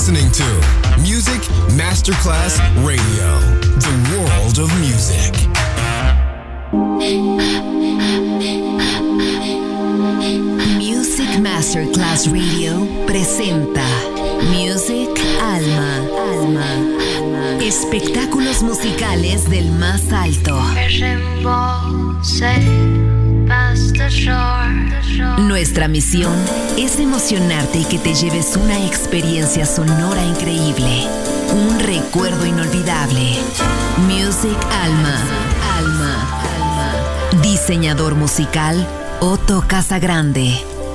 listening to Music Masterclass Radio, the world of music. Music Masterclass Radio presenta Music Alma. Espectáculos musicales del más alto. Nuestra misión es emocionarte y que te lleves una experiencia sonora increíble, un recuerdo inolvidable. Music Alma. Diseñador musical Otto Casagrande.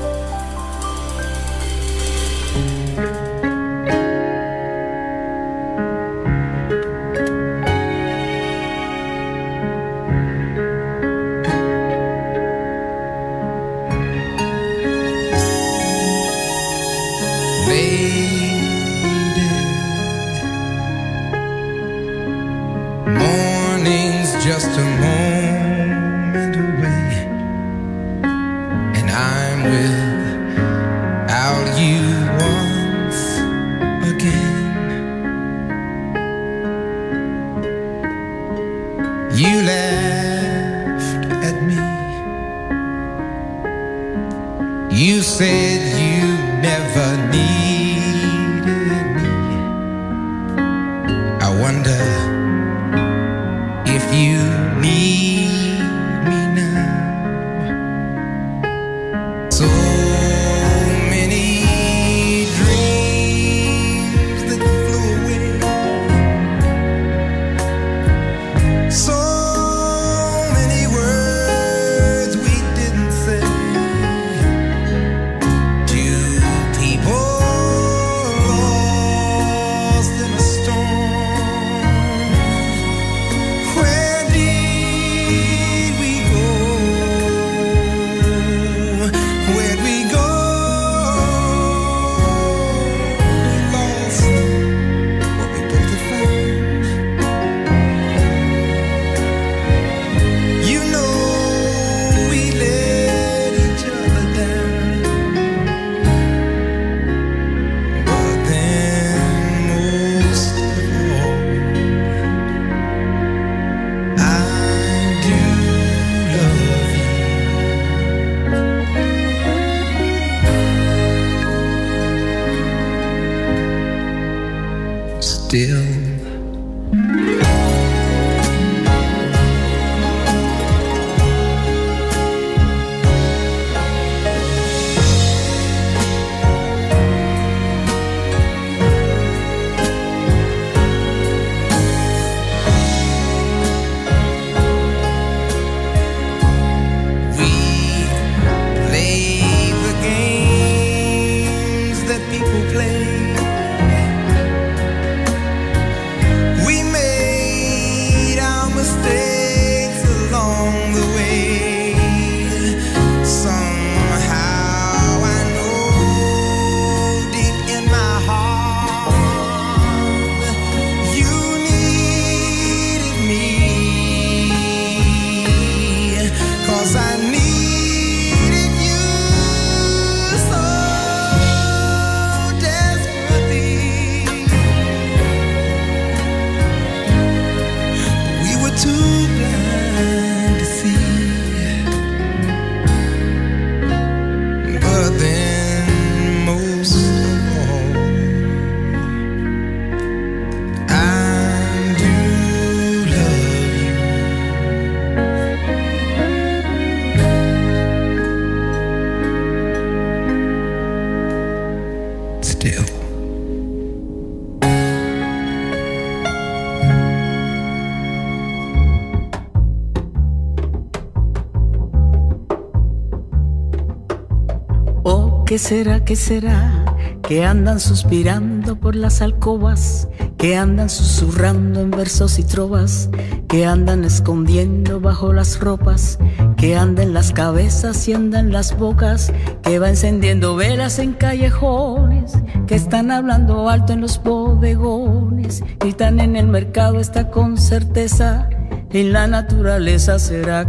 ¿Qué será, qué será? Que andan suspirando por las alcobas, que andan susurrando en versos y trovas, que andan escondiendo bajo las ropas, que andan en las cabezas y andan en las bocas, que va encendiendo velas en callejones, que están hablando alto en los bodegones, gritan en el mercado, está con certeza. En la naturaleza será,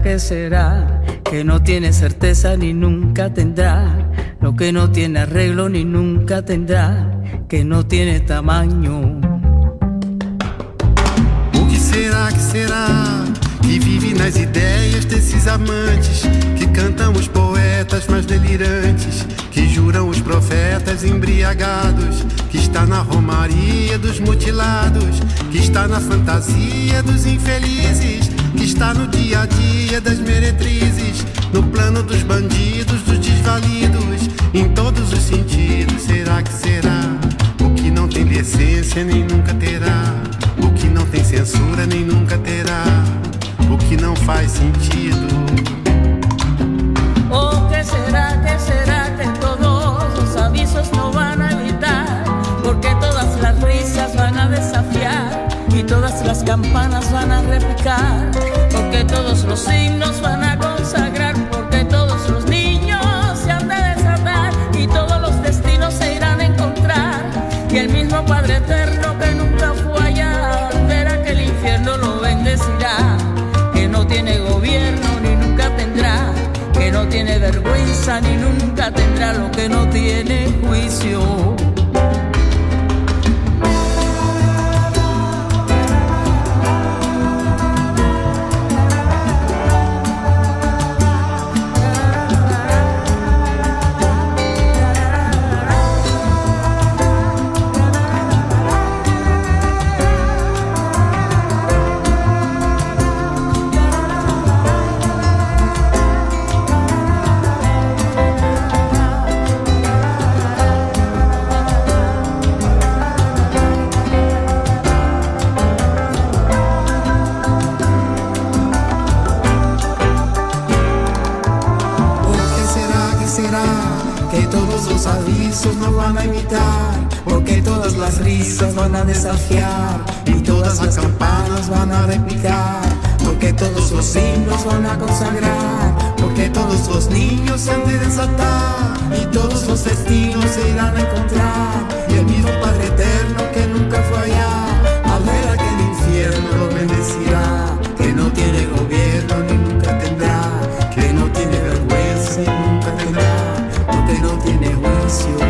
que no tiene certeza ni nunca tendrá, lo que no tiene arreglo ni nunca tendrá, que no tiene tamaño. O que será que vive nas ideias desses amantes, que cantam os poetas mais delirantes, que juram os profetas embriagados, que está na romaria dos mutilados, que está na fantasia dos infelizes, que está no dia a dia das meretrizes, no plano dos bandidos, dos desvalidos, em todos os sentidos. Será que será? O que não tem decência nem nunca terá, o que não tem censura nem nunca terá, o que não faz sentido. Oh, ¿qué será que todos los avisos no van a evitar? Porque todas las risas van a desafiar y todas las campanas van a repicar, porque todos los signos van a consagrar, porque todos los niños se han de desatar y todos los destinos se irán a encontrar. Y el mismo Padre Eterno que nunca fue allá, verá que el infierno lo bendecirá, que no tiene gobierno ni nunca tendrá, que no tiene vergüenza ni nunca tendrá, lo que no tiene juicio. No van a imitar, porque todas las risas van a desafiar y todas las campanas van a repicar, porque todos los signos van a consagrar, porque todos los niños se han de desatar y todos los destinos se irán a encontrar. Y el mismo Padre Eterno que nunca fue allá, al ver aquel infierno lo bendecirá, que no tiene gobierno ni nunca tendrá, que no tiene vergüenza y nunca tendrá, porque no tiene juicio.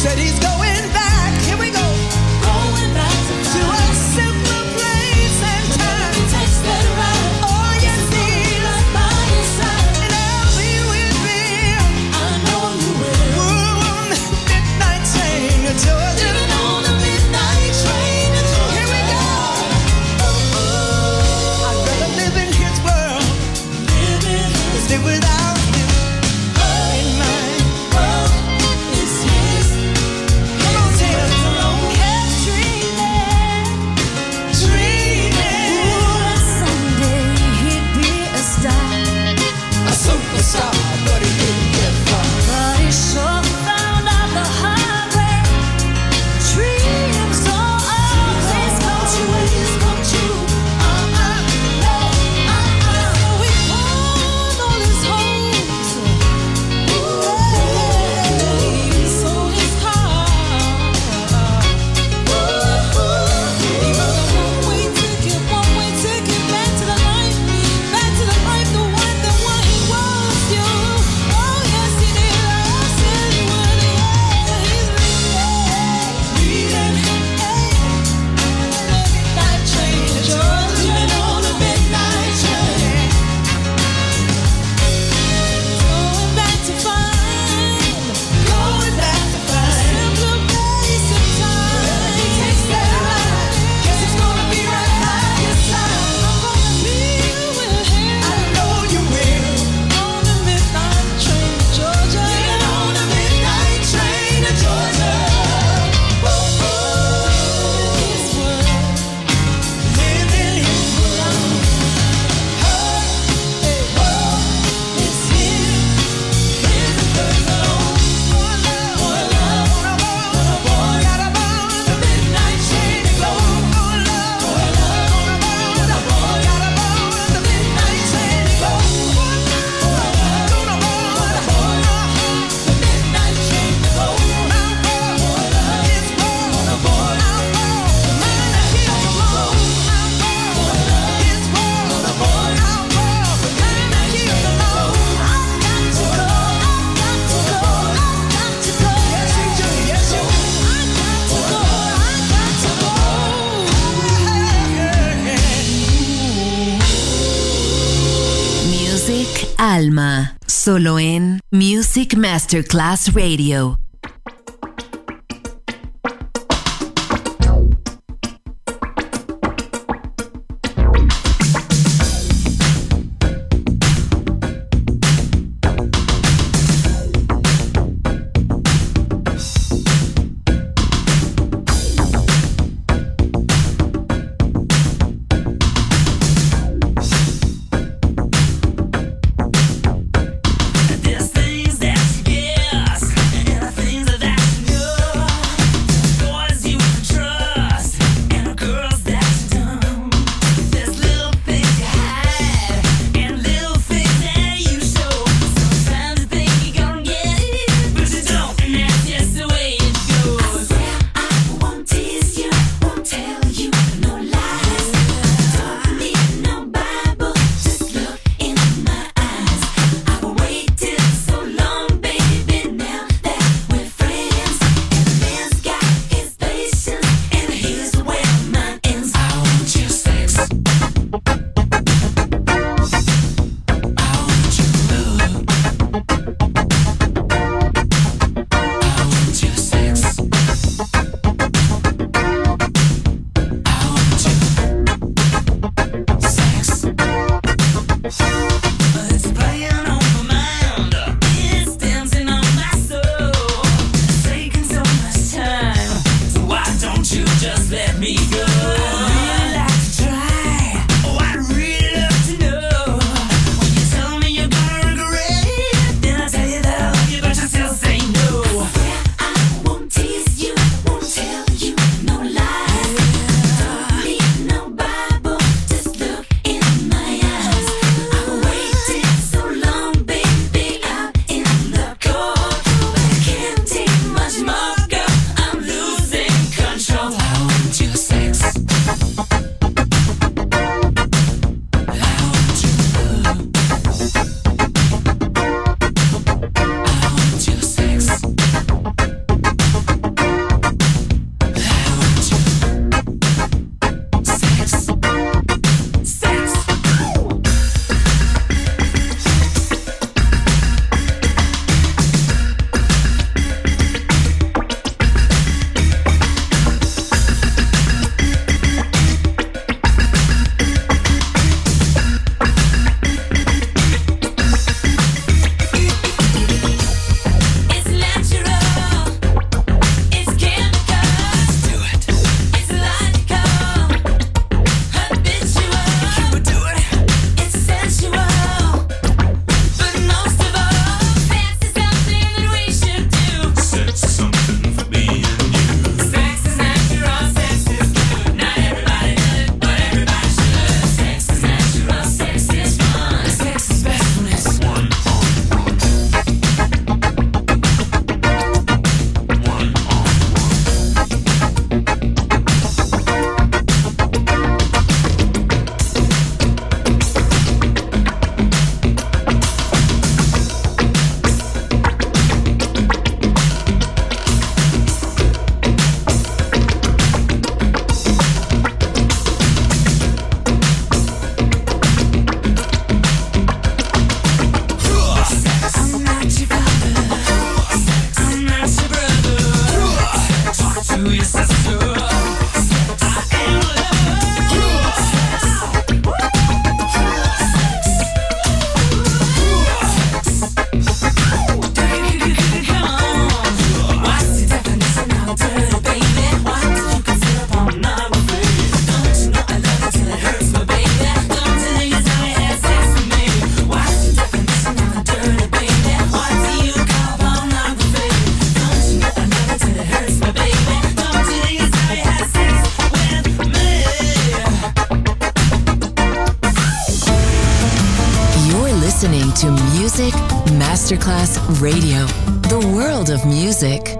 Said he's going back. Here we go. Going back to a simpler place and time. Takes that ride. Oh yes, he's right by your side. And I'll be with me. I know you will. Midnight train to Georgia. Living on a midnight train to Georgia. Here we go. I'd rather live in his world. Live without you. In my world is his. Come on, Taylor. Kept dreaming. Someday he'd be a star. A superstar, but he didn't get far. But he sure found out the hard way. Dreams don't always come true. We pawned all his hopes. He sold his car. He was a one-way ticket back to the life, the one he was. You, oh yes he did. I said he would. He's leaving. Midnight train to Georgia. On a midnight train. Going back to find simpler place and time. He takes that ride. Guess it's gonna be right by your side. I'm gonna be with him. I know you will. On a midnight train to Georgia. On a midnight train to Georgia. His world. Live in his world. Her world is his. His and hers alone. One love, got aboard the midnight train to go. One love, got aboard the midnight train to go. One love, gonna board the midnight train to go. Our world, his world, our world, mine and his alone. Our world, his world, our world, mine and his alone. I've got to go. Yes, you do. Yes, you do. I've got to go. Music Alma, solo en Music Masterclass Radio. There's things that you guess, and the things that you know. Boys you can trust, and the girls that you don't. There's little things you hide, and little things that you show. Sometimes you think you're gonna get it, but you don't, and that's just the way it goes. I won't tease you, won't tell you no lies. Don't need no Bible, just look in my eyes. I've waited so long, baby, now that we're friends. And a man's got his patience, and here's where mine ends. I want your sex. I want your love. I want your sex. I want your sex. It's playing on my mind. It's dancing on my soul. It's taking so much time. So why don't you just let me go? I'd really like to try. Oh, I'd really love to know. When you tell me you're gonna regret it, then I tell you that I love you, but you still say no. I won't tease you, won't tell you no lies. Don't need no Bible, just look in my eyes. I've waited so long, baby, out in the cold. But I can't take much more, girl, I'm losing control. I want your sex. To Music Masterclass Radio, the world of music.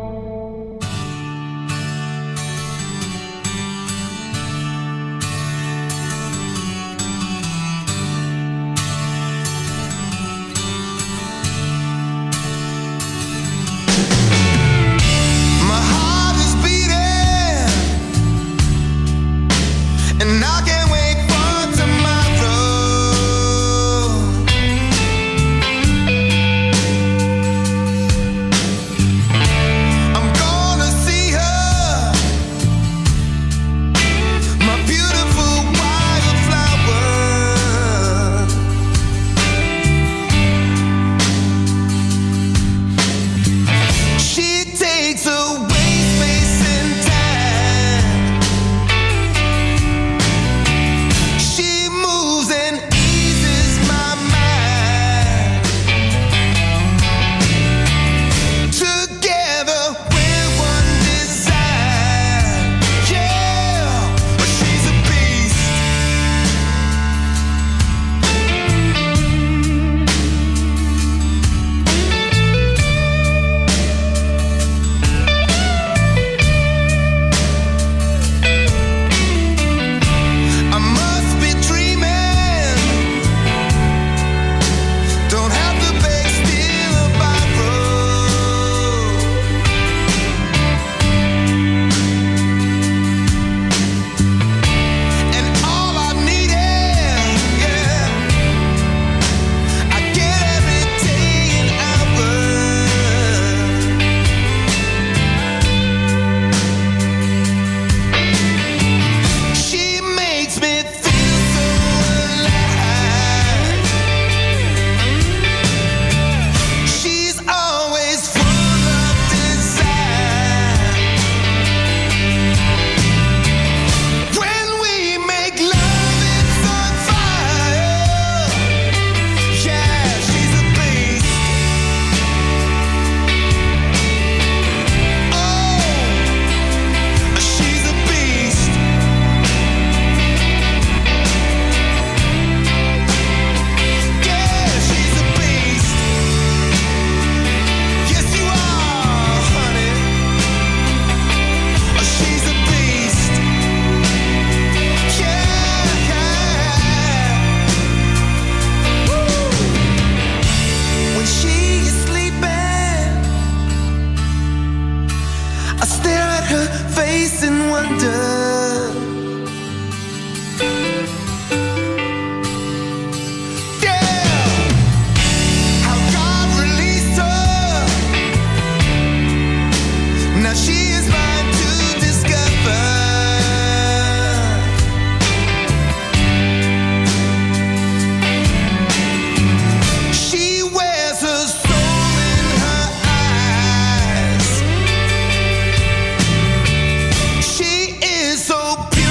She is so beautiful.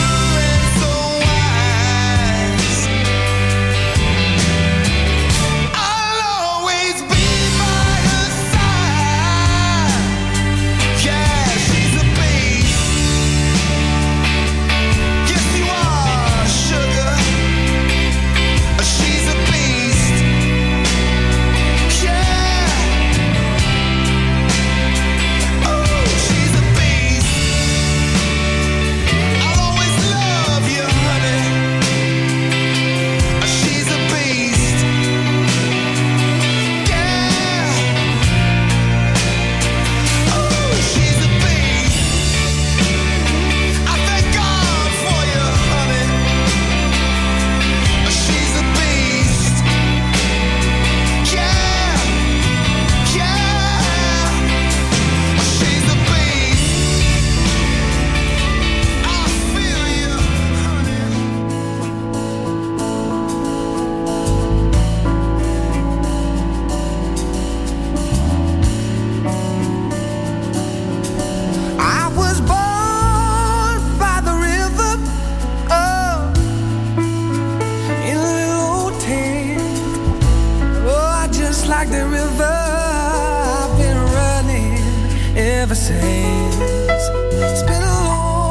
plans. It's been a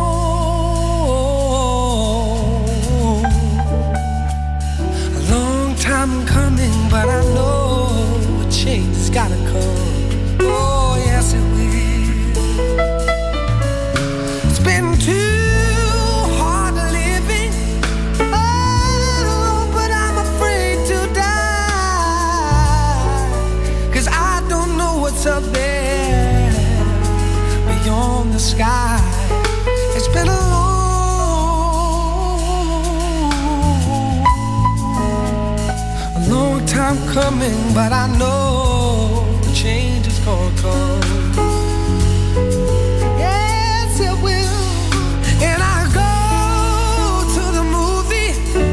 long time coming, but I know a change has gotta come. Oh, yes, it will. It's been too hard living. Oh, but I'm afraid to die. 'Cause I don't know what's up there beyond the sky. It's been a long time coming, but I know the change is gonna come. Yes, it will. And I go to the movie,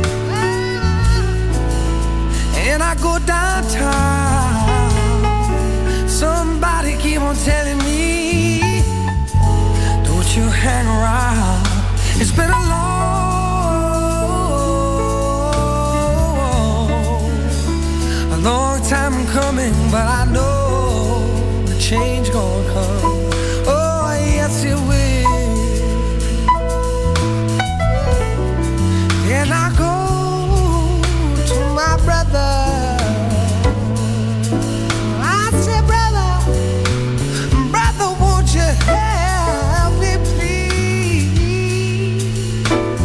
and I go downtown. Somebody keep on telling me, don't you hang around. It's been a long time coming, but I know the change gonna come. Oh, yes, it will. And I go to my brother. I said, brother, won't you help me, please?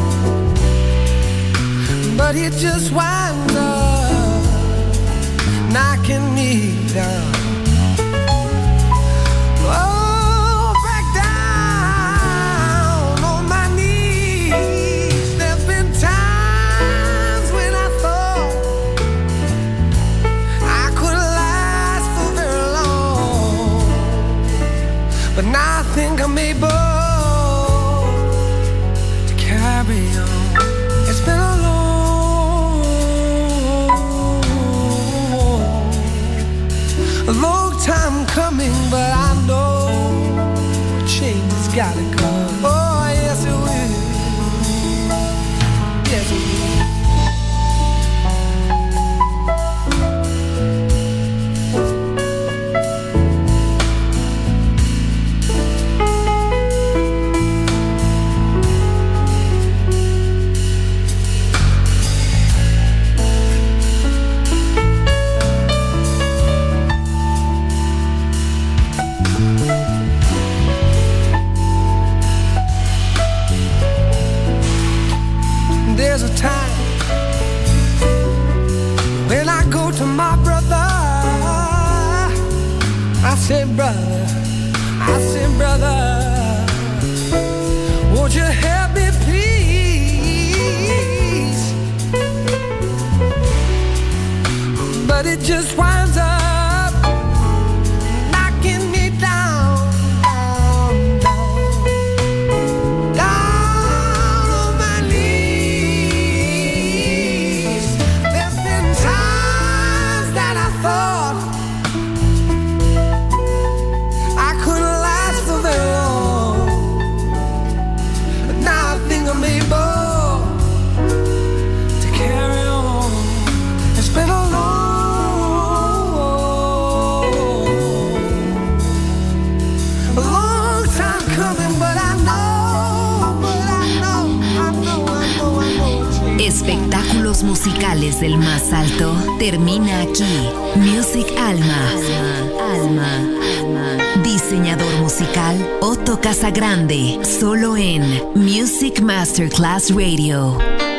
But he just winds up knocking me down. Oh, back down on my knees. There's been times when I thought I could last for very long, but now I think I'm able to carry on. It's been a long time coming, but I know change has gotta come. Oh, yes, it will. Yes, it will. There's a time when I go to my brother. I say, brother, won't you help me, please? But it just winds up knocking me down, down on my knees. There's been times that I thought I couldn't last for very long, but now I think I'm able to carry on. It's been a long time coming, but I know. Espectáculos musicales del más alto termina aquí. Music Alma. Diseñador musical Otto Casagrande, solo en Music Masterclass Radio.